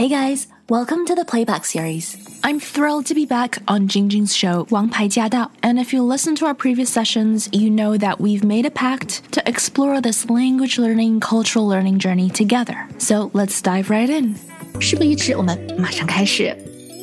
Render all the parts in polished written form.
Hey guys, welcome to the Playback series. I'm thrilled to be back on Jingjing's show, 王牌驾到. And if you listen to our previous sessions, you know that we've made a pact to explore this language learning, cultural learning journey together. So let's dive right in. 事不宜迟，我们马上开始。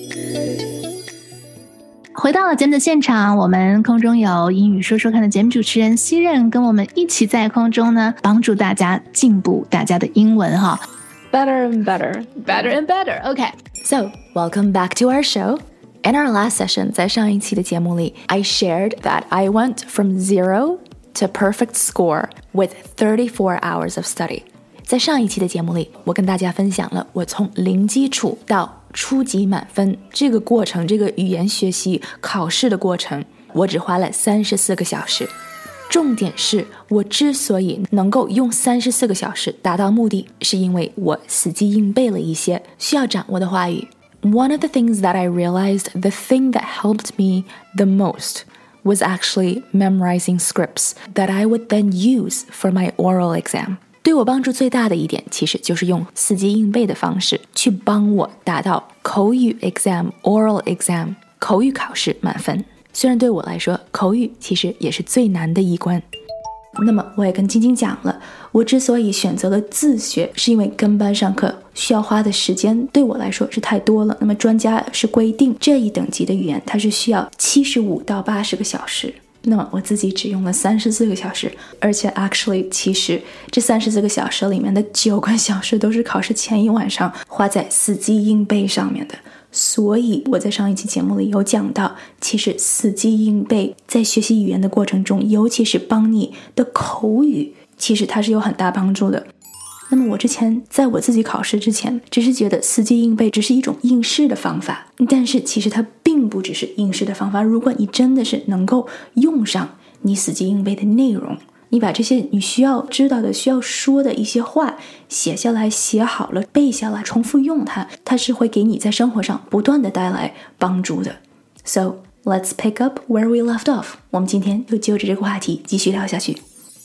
回到了节目的现场，我们空中有英语说说看的节目主持人西任跟我们一起在空中呢，帮助大家进步大家的英文哈。 Better and better. Better and better. Okay. So, welcome back to our show. In our last session, 在上一期的节目里 I shared that I went from 0 to perfect score with 34 hours of study. 在上一期的节目里，我跟大家分享了我从零基础到初级满分这个过程，这个语言学习考试的过程，我只花了34个小时。重点是我之所以能够用34个小时达到目的，是因为我死记硬背了一些需要掌握的话语。One of the things that I realized, the thing that helped me the most was actually memorizing scripts that I would then use for my oral exam. 对我帮助最大的一点，其实就是用死记硬背的方式去帮我达到口语 exam, oral exam, 口语考试满分。虽然对我来说，口语其实也是最难的一关。那么我也跟晶晶讲了，我之所以选择了自学，是因为跟班上课需要花的时间对我来说是太多了。那么专家是规定这一等级的语言它是需要75到80个小时，那么我自己只用了34个小时，而且 actually 其实这34个小时里面的9个小时都是考试前一晚上花在死记硬背上面的。所以我在上一期节目里有讲到，其实死记硬背在学习语言的过程中，尤其是帮你的口语，其实它是有很大帮助的。那么我之前在我自己考试之前，只是觉得死记硬背只是一种应试的方法，但是其实它并不只是应试的方法。如果你真的是能够用上你死记硬背的内容，你把这些你需要知道的、需要说的一些话写下来、写好了、背下来，重复用它，它是会给你在生活上不断的带来帮助的。So let's pick up where we left off. 我们今天就就着这个话题继续聊下去。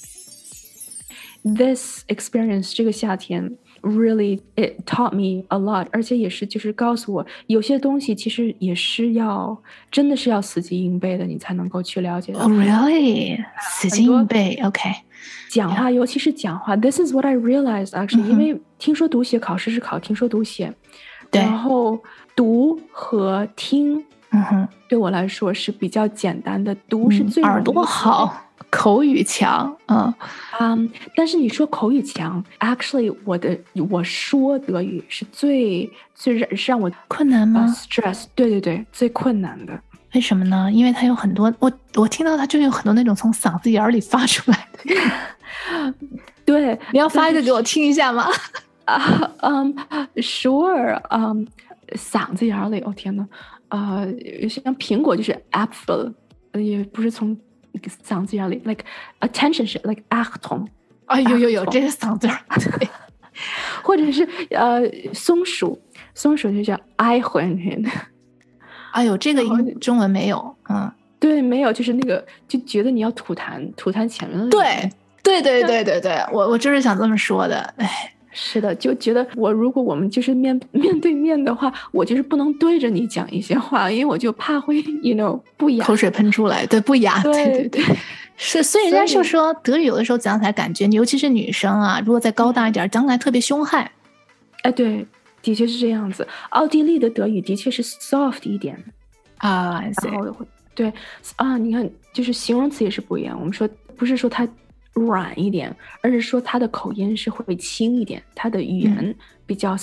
This experience 这个夏天 really it taught me a lot， 而且也是就是告诉我有些东西其实也是要真的是要死记硬背的，你才能够去了解的。 Oh really? 死记硬背 OK。 讲话尤其是讲话 This is what I realized actually、因为听说读写考试是考听说读写，然后读和听对我来说是比较简单的，读是最耳朵好口语强但是你说口语强 actually 我说德语是最让我困难吗 stress 对最困难的。 为什么呢？因为它有很多我听到它就有很多那种从嗓子眼里发出来的对， 你要发一个给我听一下吗 ？Sure， 嗓子眼里，哦天哪，像苹果就是 apple， 也不是从嗓子眼里 ，like attention 是 like Achtung， 有这个嗓子对， 或者是松鼠就叫 Eichhörnchen。 哎呦，这个中文没有， 对，没有，就是那个就觉得你要吐痰前面的。 对，我就是想这么说的，哎。 是的，就觉得如果我们就是面对面的话，我就是不能对着你讲一些话，因为我就怕会不雅， 口水喷出来，对，不雅，对，是，所以人家就说德语有的时候讲起来感觉，尤其是女生啊，如果再高大一点，讲起来特别凶悍。 哎，对，的确是这样子。奥地利的德语的确是 soft 一点啊， 然后对你看，就是形容词也是不一样。我们说不是说它软一点，而是说它的口音是会轻一点，它的语言比较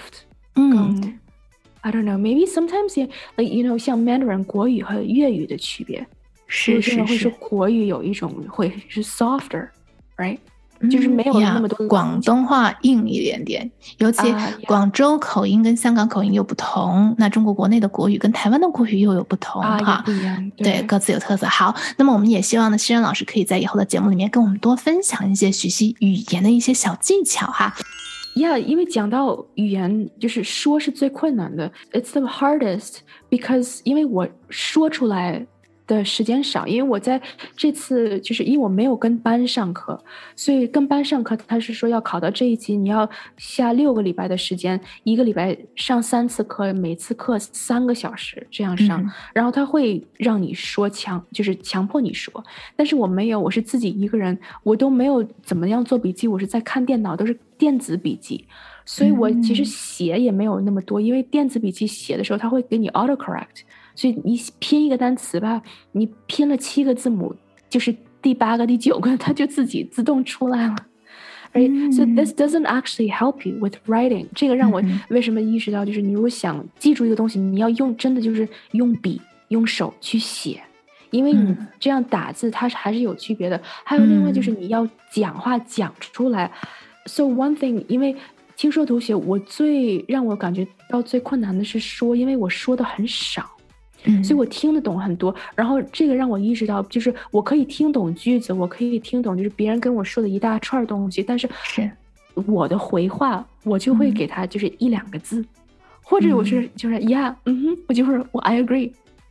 soft。I don't know, maybe sometimes like 像 Mandarin 国语和粤语的区别， 是会说国语有一种会是 softer, right？就是没有那么多广东话硬一点点，尤其广州口音跟香港口音又不同，那中国国内的国语跟台湾的国语又有不同哈，不一样， 对，各自有特色。好，那么我们也希望呢，西任老师可以在以后的节目里面跟我们多分享一些学习语言的一些小技巧哈。 因为讲到语言，就是说是最困难的 ，It's the hardest because 因为我说出来的时间少，因为我在这次就是因为我没有跟班上课，所以跟班上课他是说要考到这一级你要下6个礼拜的时间，1个礼拜上3次课，每次课3个小时这样上，然后他会让你说就是强迫你说，但是我没有，我是自己一个人，我都没有怎么样做笔记，我是在看电脑，都是电子笔记，所以我其实写也没有那么多，因为电子笔记写的时候他会给你 autocorrect，所以你拼一个单词吧，你拼了7个字母，就是第8个、第9个，它就自己自动出来了。Right? So this doesn't actually help you with writing. 这个让我为什么意识到，就是你如果想记住一个东西，你要真的就是用笔、用手去写，因为你这样打字它还是有区别的。还有另外就是你要讲话讲出来。So one thing， 因为听说读写，让我感觉到最困难的是说，因为我说的很少。所以我听得懂很多，然后这个让我意识到，就是我可以听懂句子，我可以听懂就是别人跟我说的一大串东西，但是我的回话我就会给他就是1-2个字，或者我就是yeah，我就是我 I agree，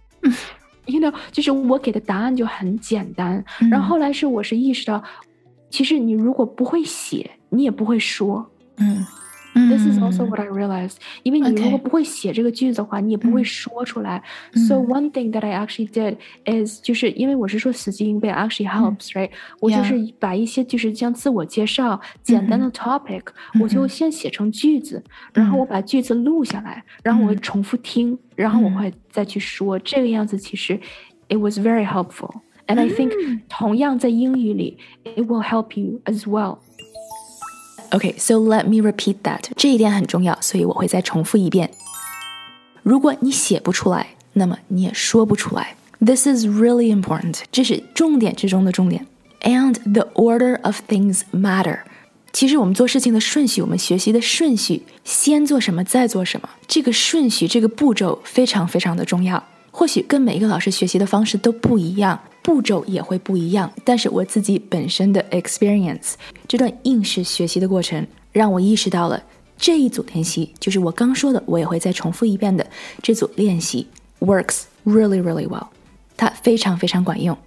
you know， 就是我给的答案就很简单。然后后来我是意识到，其实你如果不会写，你也不会说。This is also what I realized. 因为你如果不会写这个句子的话，你也不会说出来。So one thing that I actually did is 就是因为我是说死记硬背 actually helps, right? 我就是把一些就是像自我介绍、简单的 topic，我就先写成句子，然后我把句子录下来，然后我会重复听，然后我会再去说。这个样子其实 it was very helpful. And I think 同样在英语里 it will help you as well.Okay, so let me repeat that. 这一点很重要，所以我会再重复一遍。如果你写不出来，那么你也说不出来。This is really important. 这是重点之中的重点。And the order of things matter. 其实我们做事情的顺序，我们学习的顺序，先做什么，再做什么，这个顺序，这个步骤非常非常的重要。或许跟每一个老师学习的方式都不一样，步骤也会不一样，但是我自己本身的 experience， 这段应试学习的过程让我意识到了这一组练习，就是我刚说的，我也会再重复一遍的这组练习 works really really well， 它非常非常管用。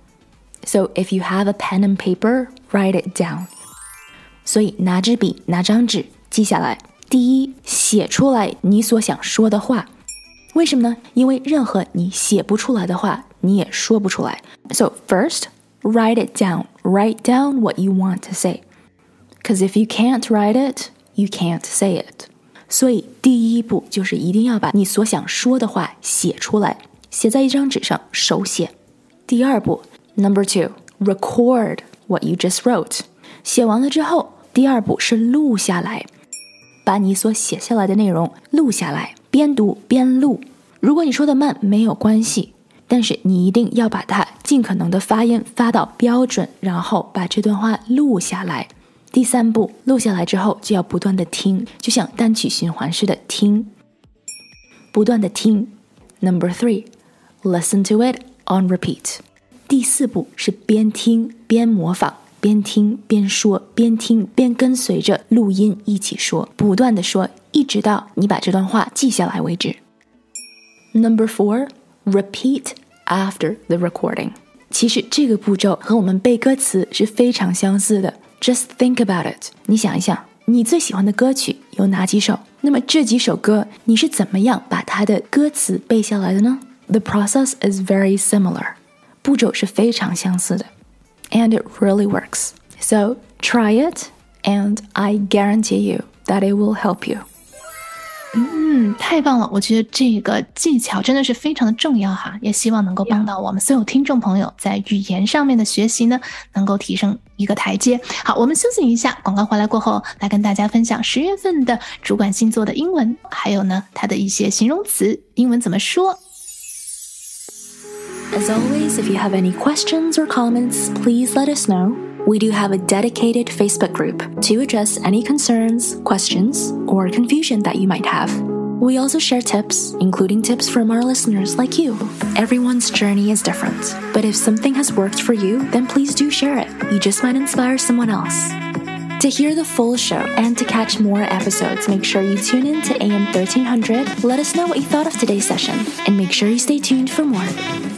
So if you have a pen and paper, write it down。 所以拿支笔拿张纸记下来。第一，写出来你所想说的话。为什么呢？因为任何你写不出来的话，你也说不出来。So first, write it down. Write down what you want to say. Because if you can't write it, you can't say it. 所以第一步就是一定要把你所想说的话写出来，写在一张纸上，手写。第二步 Number 2, record what you just wrote. 写完了之后，第二步是录下来，把你所写下来的内容录下来，边读边录。如果你说的慢没有关系，但是你一定要把它尽可能的发音发到标准，然后把这段话录下来。第三步，录下来之后就要不断的听，就像单曲循环似的听，不断的听。Number 3, listen to it on repeat. 第四步是边听边模仿，边听边说，边听边跟随着录音一起说，不断的说，一直到你把这段话记下来为止。Number 4, repeat after the recording. 其实这个步骤和我们背歌词是非常相似的。Just think about it. 你想一想，你最喜欢的歌曲有哪几首？那么这几首歌，你是怎么样把它的歌词背下来的呢？ The process is very similar. 步骤是非常相似的。And it really works. So try it, and I guarantee you that it will help you. 太棒了，我觉得这个技巧真的是非常的重要哈，也希望能够帮到我们所有听众朋友在语言上面的学习呢，能够提升一个台阶。好，我们休息一下，广告回来过后来跟大家分享10月份的主管星座的英文，还有呢它的一些形容词英文怎么说。 As always, if you have any questions or comments, please let us know.We do have a dedicated Facebook group to address any concerns, questions, or confusion that you might have. We also share tips, including tips from our listeners like you. Everyone's journey is different, but if something has worked for you, then please do share it. You just might inspire someone else. To hear the full show and to catch more episodes, make sure you tune in to AM 1300. Let us know what you thought of today's session, and make sure you stay tuned for more.